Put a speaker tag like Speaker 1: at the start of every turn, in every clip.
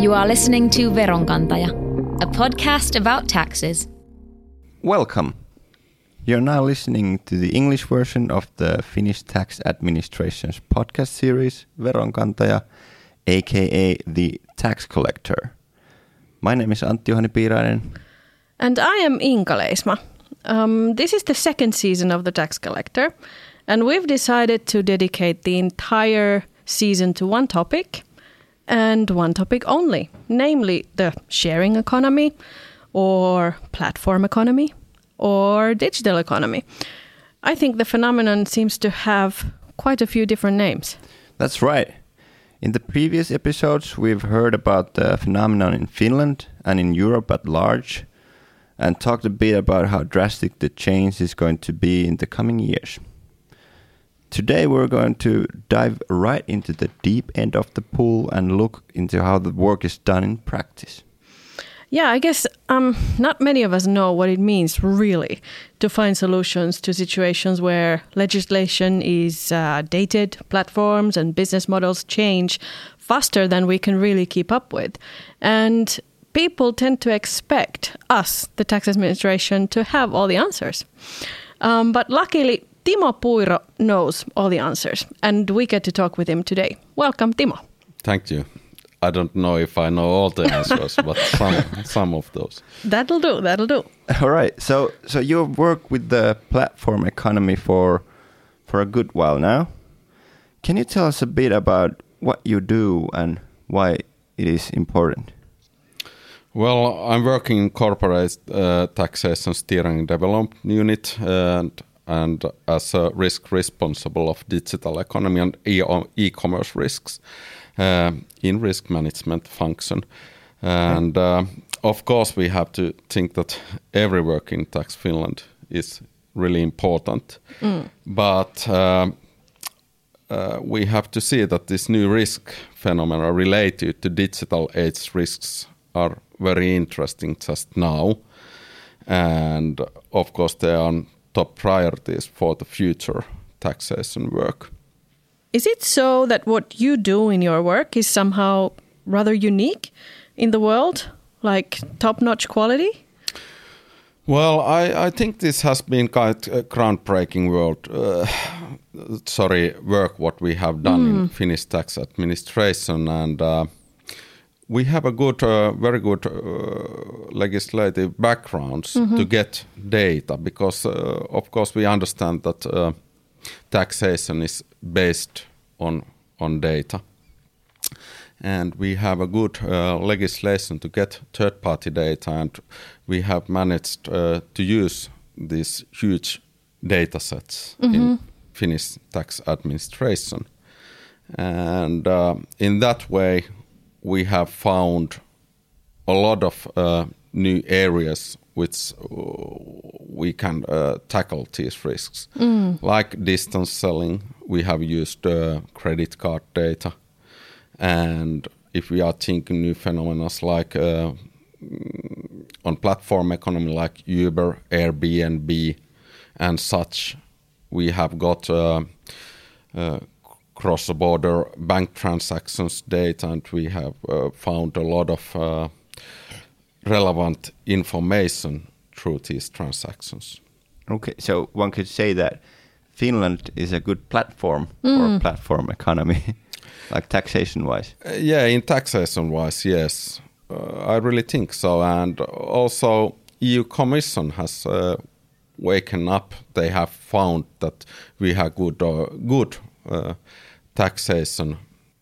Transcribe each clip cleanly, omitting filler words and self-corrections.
Speaker 1: You are listening to Veronkantaja, a podcast about taxes.
Speaker 2: Welcome. You're now listening to the English version of the Finnish Tax Administration's podcast series, Veronkantaja, aka The Tax Collector. My name is Antti-Juhani Piirainen.
Speaker 3: And I am Inka Leisma. This is the second season of The Tax Collector, and we've decided to dedicate the entire season to one topic, and one topic only, namely the sharing economy, or platform economy, or digital economy. I think the phenomenon seems to have quite a few different names.
Speaker 2: That's right. In the previous episodes, we've heard about the phenomenon in Finland and in Europe at large, and talked a bit about how drastic the change is going to be in the coming years. Today we're going to dive right into the deep end of the pool and look into how the work is done in practice.
Speaker 3: Yeah, I guess not many of us know what it means really to find solutions to situations where legislation is dated, platforms and business models change faster than we can really keep up with. And people tend to expect us, the tax administration, to have all the answers. But luckily, Timo Puiro knows all the answers, and we get to talk with him today. Welcome, Timo.
Speaker 4: Thank you. I don't know if I know all the answers, but some of those.
Speaker 3: That'll do.
Speaker 2: All right. So you've worked with the platform economy for a good while now. Can you tell us a bit about what you do and why it is important?
Speaker 4: Well, I'm working in corporate taxation steering development unit and as a risk responsible of digital economy and e-commerce risks in risk management function. And of course, we have to think that every work in Tax Finland is really important. But we have to see that this new risk phenomena related to digital age risks are very interesting just now. And of course, they are top priorities for the future taxation work.
Speaker 3: Is it so that what you do in your work is somehow rather unique in the world, like top-notch quality?
Speaker 4: Well, I think this has been quite a groundbreaking work what we have done in Finnish tax administration, and we have a very good legislative backgrounds to get data because, of course, we understand that taxation is based on data. And we have a good legislation to get third-party data, and we have managed to use these huge data sets in Finnish tax administration. And in that way, we have found a lot of new areas which we can tackle these risks. Like distance selling, we have used credit card data. And if we are thinking new phenomena like on platform economy like Uber, Airbnb and such, we have got cross-border bank transactions data, and we have found a lot of relevant information through these transactions.
Speaker 2: Okay, so one could say that Finland is a good platform for platform economy, like taxation-wise.
Speaker 4: Yeah, in taxation-wise, yes. I really think so. And also EU Commission has waken up. They have found that we have good taxation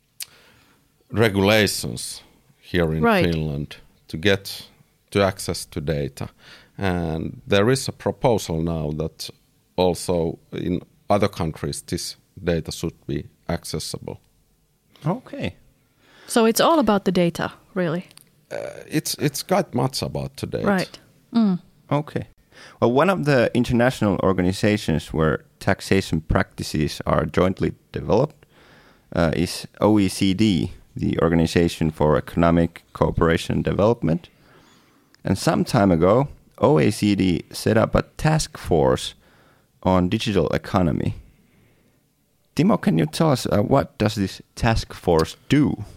Speaker 4: regulations here in Finland to get to access to data. And there is a proposal now that also in other countries this data should be accessible.
Speaker 2: Okay.
Speaker 3: So it's all about the data, really?
Speaker 4: It's quite much about the data.
Speaker 3: Right.
Speaker 2: Okay. Well, one of the international organizations where taxation practices are jointly developed is OECD, the Organization for Economic Cooperation and Development. And some time ago, OECD set up a task force on digital economy. Timo, can you tell us what does this task force do?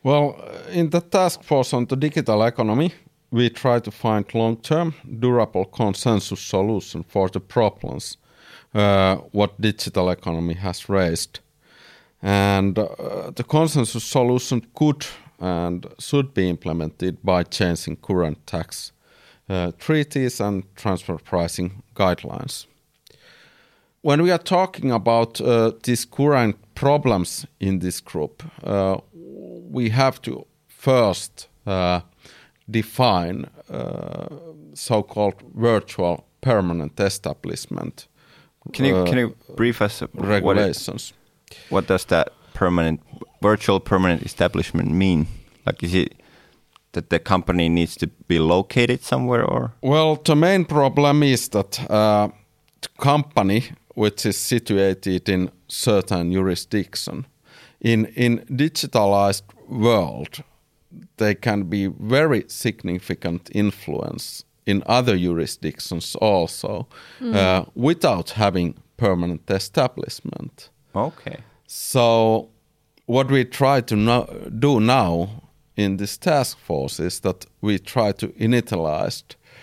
Speaker 4: Well, in the task force on the digital economy, we try to find long-term, durable consensus solution for the problems what digital economy has raised. And the consensus solution could and should be implemented by changing current tax treaties and transfer pricing guidelines. When we are talking about these current problems in this group, we have to first define so-called virtual permanent establishment.
Speaker 2: Can you brief us
Speaker 4: regulations?
Speaker 2: What does that virtual permanent establishment mean? Like, is it that the company needs to be located somewhere, or?
Speaker 4: Well, the main problem is that the company which is situated in certain jurisdiction, in digitalized world, they can be very significant influence in other jurisdictions also, without having permanent establishment.
Speaker 2: Okay.
Speaker 4: So what we try to do now in this task force is that we try to initialize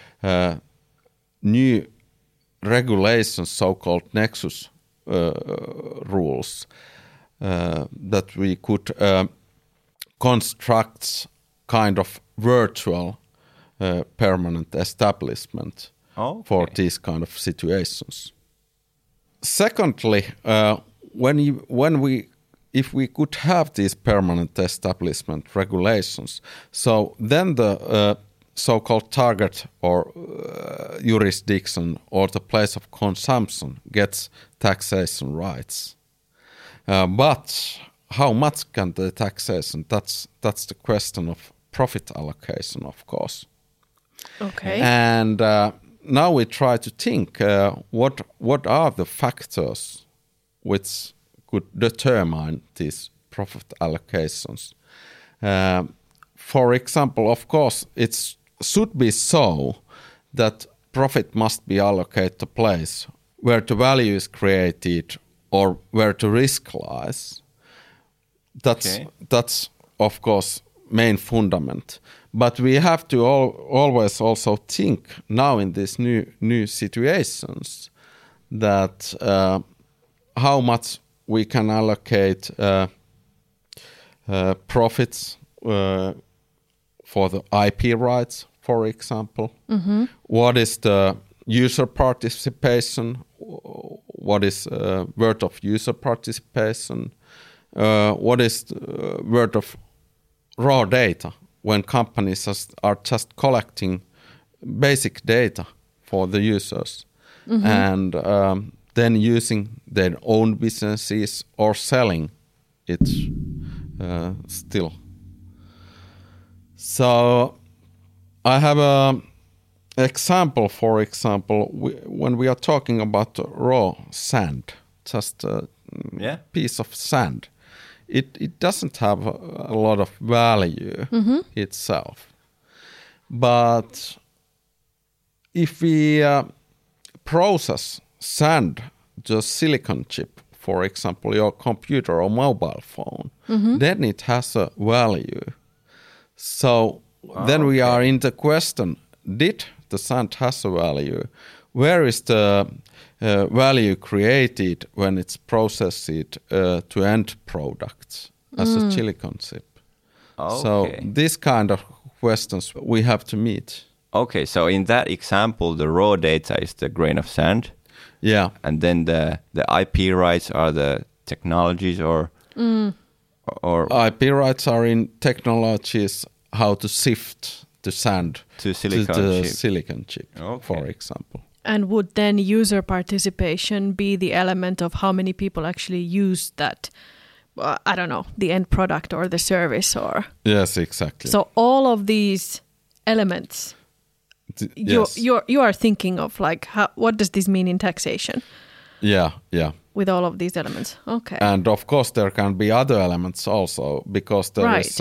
Speaker 4: new regulations, so-called nexus rules, that we could construct kind of virtual permanent establishment for these kind of situations. Secondly, if we could have these permanent establishment regulations, so then the so-called target or jurisdiction or the place of consumption gets taxation rights. But how much can the taxation? That's the question of profit allocation, of course.
Speaker 3: Okay.
Speaker 4: And now we try to think what are the factors which could determine these profit allocations. For example, of course, it should be so that profit must be allocated to place where the value is created or where the risk lies. That's of course main fundament. But we have to always also think now in these new situations that how much we can allocate profits for the IP rights, for example. Mm-hmm. What is the user participation? What is worth of user participation? What is worth of raw data when companies are just collecting basic data for the users, mm-hmm. and then using their own businesses or selling it still. So I have an example, for example, when we are talking about raw sand, just a piece of sand, it doesn't have a lot of value mm-hmm. itself. But if we process sand to a silicon chip, for example, your computer or mobile phone, mm-hmm. then it has a value. So then we are in the question, did the sand has a value? Where is the value created when it's processed to end products as a silicon chip? Okay. So this kind of questions we have to meet.
Speaker 2: Okay, so in that example, the raw data is the grain of sand.
Speaker 4: Yeah.
Speaker 2: And then the IP rights are the technologies or
Speaker 4: IP rights are in technologies how to sift the sand
Speaker 2: to silicon chip.
Speaker 4: Silicon chip, for example.
Speaker 3: And would then user participation be the element of how many people actually use that, I don't know, the end product or the service or?
Speaker 4: Yes, exactly.
Speaker 3: So all of these elements, you are thinking of like, what does this mean in taxation?
Speaker 4: Yeah.
Speaker 3: With all of these elements, okay.
Speaker 4: And of course there can be other elements also, because there is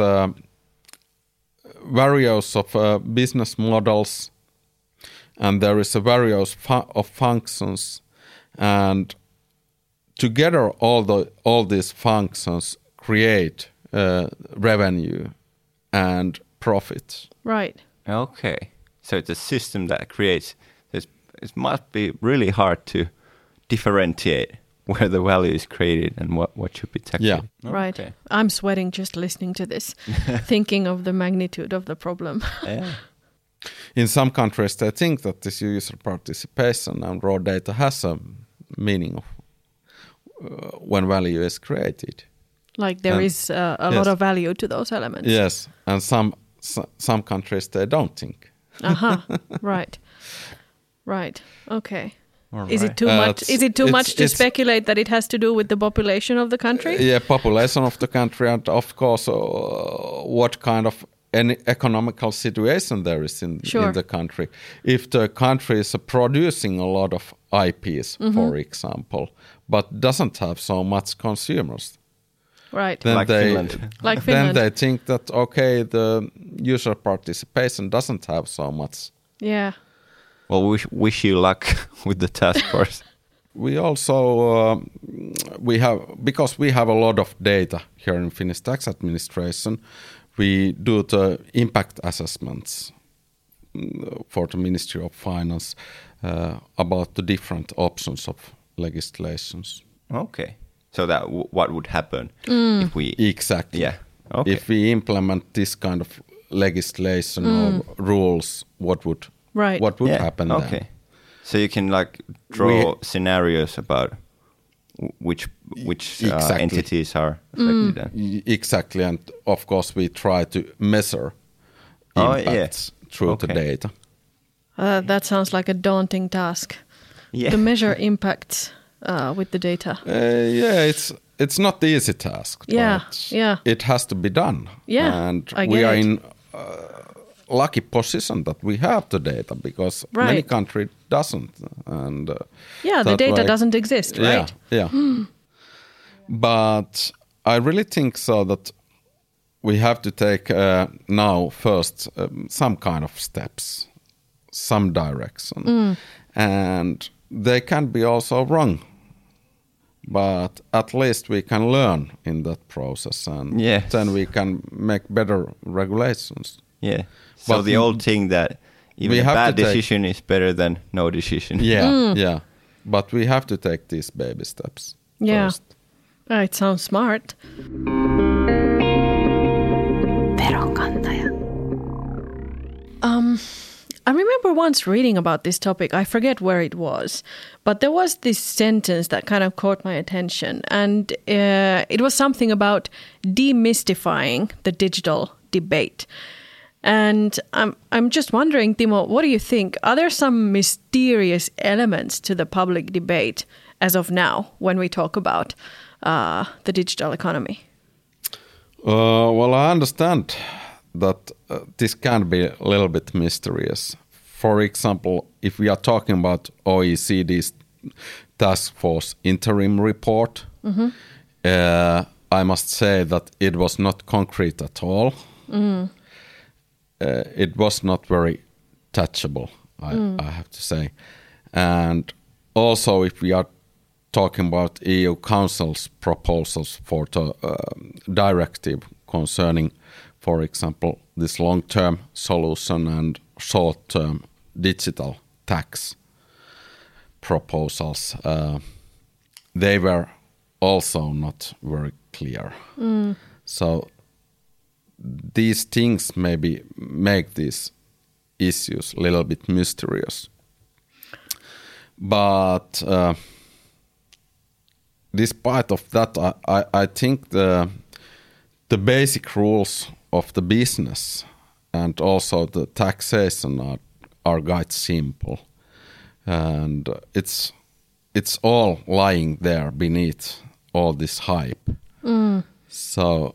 Speaker 4: various of business models, and there is a various of functions, and together all these functions create revenue and profit.
Speaker 3: Right.
Speaker 2: Okay. So it's a system that creates. It must be really hard to differentiate where the value is created and what should be taxed.
Speaker 4: Yeah.
Speaker 3: Right.
Speaker 2: Okay.
Speaker 3: I'm sweating just listening to this, thinking of the magnitude of the problem.
Speaker 2: Yeah.
Speaker 4: In some countries, they think that this user participation and raw data has a meaning of when value is created.
Speaker 3: Like there is a lot of value to those elements.
Speaker 4: Yes, and some countries they don't think.
Speaker 3: Right. Right. Okay.
Speaker 2: All
Speaker 3: Is it
Speaker 2: right.
Speaker 3: too much? Is it too much to
Speaker 4: it's-
Speaker 3: speculate that it has to do with the population of the country?
Speaker 4: Yeah, population of the country, and of course, what kind of any economical situation there is in the country. If the country is producing a lot of IPs, for example, but doesn't have so much consumers,
Speaker 3: Right.
Speaker 4: then
Speaker 2: Like Finland.
Speaker 3: Like
Speaker 4: then
Speaker 3: Finland.
Speaker 4: they think that okay, the user participation doesn't have so much.
Speaker 3: Yeah.
Speaker 2: Well, we wish you luck with the task force.
Speaker 4: We also because we have a lot of data here in Finnish Tax Administration, we do the impact assessments for the Ministry of Finance about the different options of legislations.
Speaker 2: Okay. So that what would happen if we?
Speaker 4: Exactly.
Speaker 2: Yeah. Okay.
Speaker 4: If we implement this kind of legislation or rules, what would happen then?
Speaker 2: Okay. So you can like draw scenarios about which
Speaker 4: Exactly.
Speaker 2: entities are affected. Then.
Speaker 4: Exactly, and of course we try to measure impacts through the data.
Speaker 3: That sounds like a daunting task.
Speaker 2: Yeah.
Speaker 3: To measure impacts with the data.
Speaker 4: It's not the easy task.
Speaker 3: Yeah,
Speaker 4: but
Speaker 3: yeah.
Speaker 4: It has to be done.
Speaker 3: Yeah,
Speaker 4: and
Speaker 3: I
Speaker 4: we
Speaker 3: get
Speaker 4: are
Speaker 3: it.
Speaker 4: in lucky position that we have the data because
Speaker 3: Right.
Speaker 4: many countries doesn't. And
Speaker 3: Yeah, the
Speaker 4: that
Speaker 3: data
Speaker 4: way-
Speaker 3: doesn't exist, right?
Speaker 4: Yeah. But I really think so that we have to take now first some kind of steps, some direction, and they can be also wrong. But at least we can learn in that process, and
Speaker 2: Yes.
Speaker 4: then we can make better regulations.
Speaker 2: Yeah. So
Speaker 4: But
Speaker 2: the old thing that even
Speaker 4: we
Speaker 2: a
Speaker 4: have
Speaker 2: bad
Speaker 4: to take-
Speaker 2: decision is better than no decision.
Speaker 4: Yeah. But we have to take these baby steps
Speaker 3: Yeah.
Speaker 4: first.
Speaker 3: It sounds smart.
Speaker 1: Veronkantaja.
Speaker 3: I remember once reading about this topic. I forget where it was, but there was this sentence that kind of caught my attention, and it was something about demystifying the digital debate. And I'm just wondering, Timo, what do you think? Are there some mysterious elements to the public debate as of now when we talk about the digital economy?
Speaker 4: Well, I understand that this can be a little bit mysterious. For example, if we are talking about OECD's task force interim report, I must say that it was not concrete at all. It was not very touchable, I have to say. And also, if we are talking about EU Council's proposals for the directive concerning, for example, this long-term solution and short-term digital tax proposals, they were also not very clear. So these things maybe make these issues a little bit mysterious. But despite of that, I think the basic rules of the business and also the taxation are quite simple, and it's all lying there beneath all this hype. So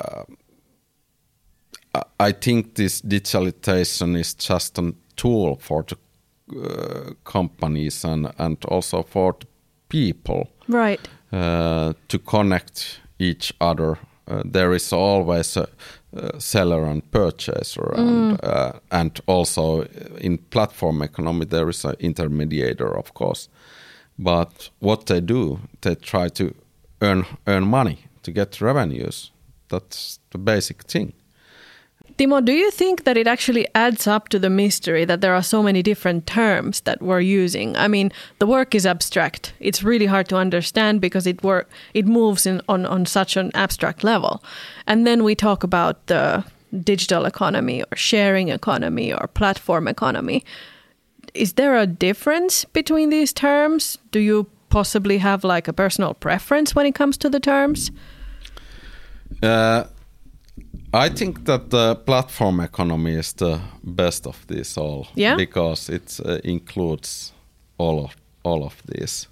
Speaker 4: I think this digitalization is just a tool for the companies and also for the people,
Speaker 3: Right.
Speaker 4: to connect each other. There is always a seller and purchaser, and also in platform economy there is an intermediator, of course. But what they do, they try to earn money to get revenues. That's the basic thing.
Speaker 3: Timo, do you think that it actually adds up to the mystery that there are so many different terms that we're using? I mean, the work is abstract. It's really hard to understand because it moves on such an abstract level. And then we talk about the digital economy or sharing economy or platform economy. Is there a difference between these terms? Do you possibly have like a personal preference when it comes to the terms?
Speaker 4: I think that the platform economy is the best of these all, because it includes all of these.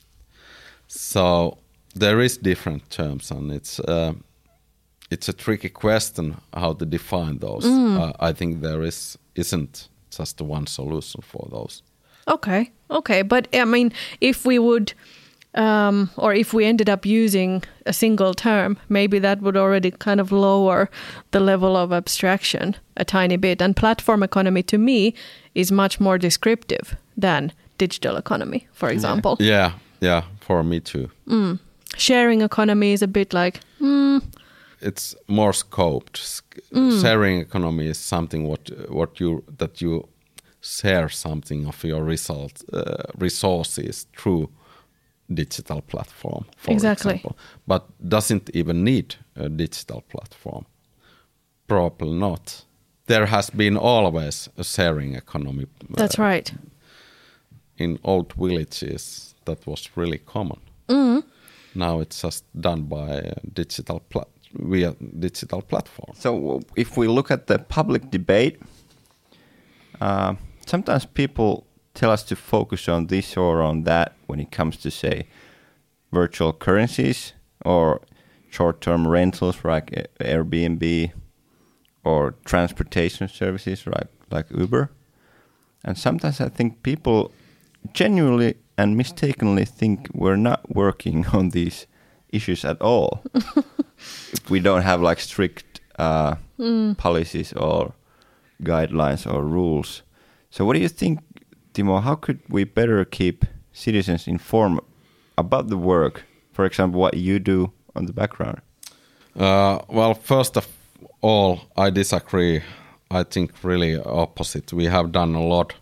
Speaker 4: So there is different terms, and it's a tricky question how to define those. I think there isn't just one solution for those. Okay, but I mean, if we would. Or if we ended up using a single term, maybe that would already kind of lower the level of abstraction a tiny bit. And platform economy, to me, is much more descriptive than digital economy, for example. Yeah, for me too.
Speaker 3: Sharing economy is a bit like...
Speaker 4: It's more scoped. Sharing economy is something that you share something of your resources through digital platform, for example, but doesn't even need a digital platform. Probably not. There has been always a sharing economy.
Speaker 3: That's right.
Speaker 4: In old villages, that was really common. Now it's just done by via digital platform.
Speaker 2: So if we look at the public debate, sometimes people tell us to focus on this or on that when it comes to, say, virtual currencies or short-term rentals like Airbnb or transportation services like Uber. And sometimes I think people genuinely and mistakenly think we're not working on these issues at all. If we don't have like strict policies or guidelines or rules. So what do you think, Timo, how could we better keep citizens informed about the work? For example, what you do on the background?
Speaker 4: Well, first of all, I disagree. I think really opposite. We have done a lot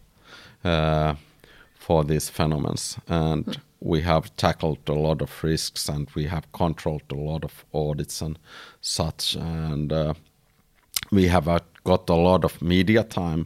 Speaker 4: for these phenomena, and we have tackled a lot of risks, and we have controlled a lot of audits and such, and we have got a lot of media time.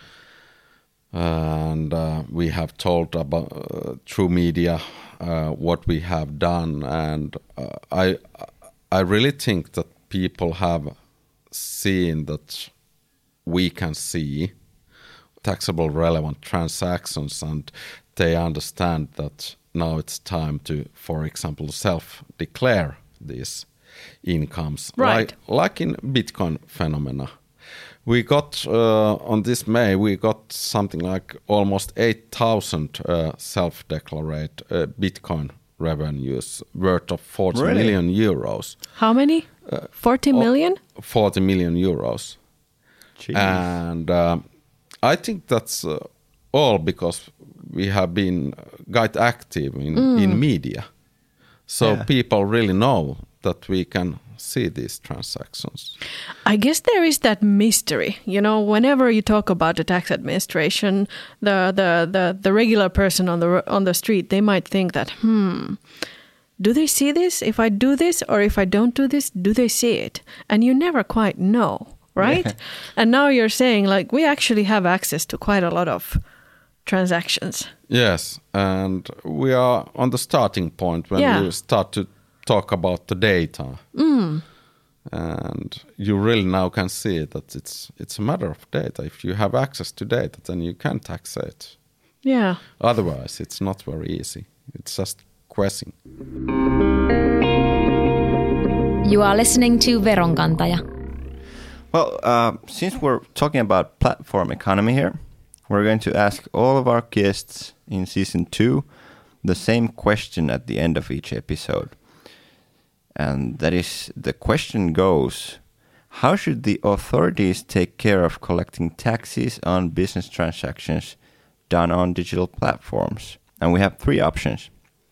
Speaker 4: And we have told about through media what we have done, and I really think that people have seen that we can see taxable relevant transactions, and they understand that now it's time to, for example, self-declare these incomes,
Speaker 3: right?
Speaker 4: Like in Bitcoin phenomena. We got, on this May, we got something like almost 8,000 self-declared Bitcoin revenues worth of 40 million euros.
Speaker 3: How many? 40 million?
Speaker 4: 40 million euros. Jeez. And I think that's all because we have been quite active in media. So people really know that we can see these transactions.
Speaker 3: I guess there is that mystery. You know, whenever you talk about the tax administration, the regular person on the street, they might think that, do they see this? If I do this or if I don't do this, do they see it? And you never quite know, right? Yeah. And now you're saying like we actually have access to quite a lot of transactions.
Speaker 4: Yes, and we are on the starting point when we start to talk about the data. And you really now can see that it's a matter of data. If you have access to data, then you can tax it.
Speaker 3: Yeah.
Speaker 4: Otherwise, it's not very easy. It's just guessing.
Speaker 1: You are listening to Veronkantaja.
Speaker 2: Well, since we're talking about platform economy here, we're going to ask all of our guests in season 2 the same question at the end of each episode. And that is, the question goes, how should the authorities take care of collecting taxes on business transactions done on digital platforms? And we have 3 options.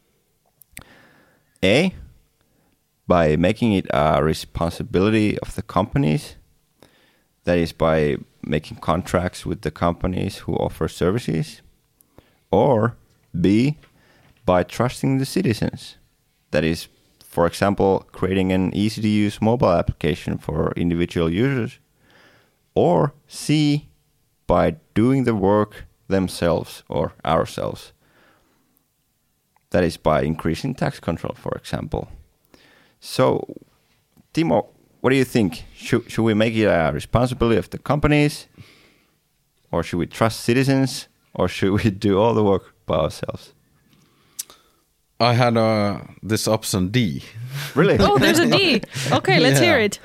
Speaker 2: A, by making it a responsibility of the companies. that is by making contracts with the companies who offer services, or B, by trusting the citizens, that is, for example, creating an easy-to-use mobile application for individual users, or C, by doing the work themselves or ourselves, that is, by increasing tax control, for example. So, Timo, what do you think? Should we make it a responsibility of the companies, or should we trust citizens, or should we do all the work by ourselves?
Speaker 4: I had this option D.
Speaker 2: Really?
Speaker 3: Oh, there's a D. Okay, let's hear it.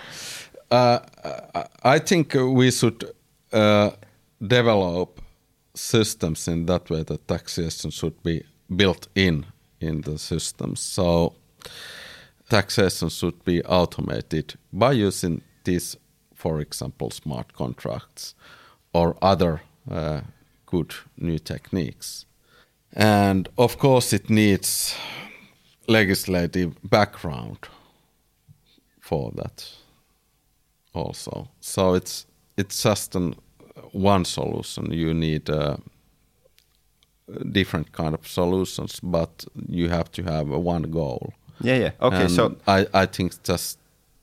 Speaker 4: I think we should develop systems in that way that taxation should be built in the systems. So taxation should be automated by using these, for example, smart contracts or other good new techniques. And of course it needs legislative background for that also. So it's just one solution. You need different kind of solutions, but you have to have one goal.
Speaker 2: Yeah. Okay,
Speaker 4: and
Speaker 2: so
Speaker 4: I think just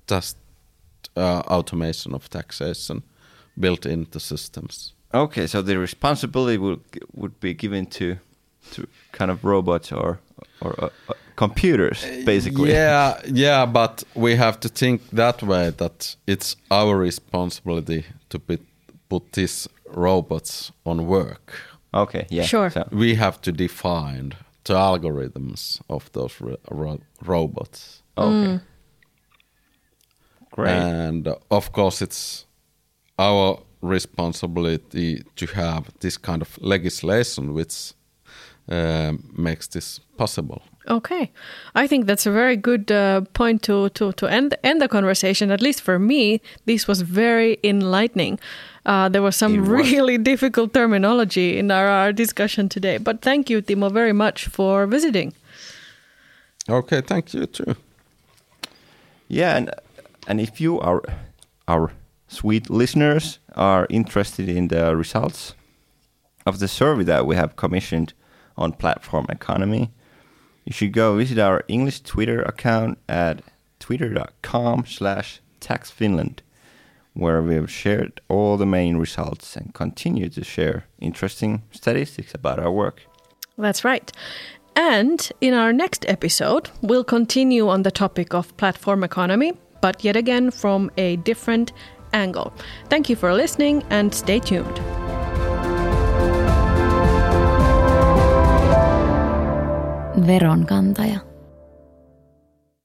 Speaker 4: automation of taxation built into systems.
Speaker 2: Okay, so the responsibility would be given to kind of robots or computers, basically.
Speaker 4: Yeah, but we have to think that way, that it's our responsibility to put these robots on work.
Speaker 2: Okay, yeah.
Speaker 3: Sure.
Speaker 2: So,
Speaker 4: We have to define the algorithms of those robots.
Speaker 2: okay. Great.
Speaker 4: And of course, it's our responsibility to have this kind of legislation which makes this possible.
Speaker 3: Okay, I think that's a very good point to end the conversation. At least for me, this was very enlightening. There was some really difficult terminology in our discussion today. But thank you, Timo, very much for visiting.
Speaker 4: Okay, thank you too.
Speaker 2: Yeah, and if you are our sweet listeners are interested in the results of the survey that we have commissioned on Platform Economy, you should go visit our English Twitter account at twitter.com/taxfinland, where we have shared all the main results and continue to share interesting statistics about our work.
Speaker 3: That's right. And in our next episode, we'll continue on the topic of platform economy, but yet again from a different angle. Thank you for listening and stay tuned.
Speaker 1: Veronkantaja.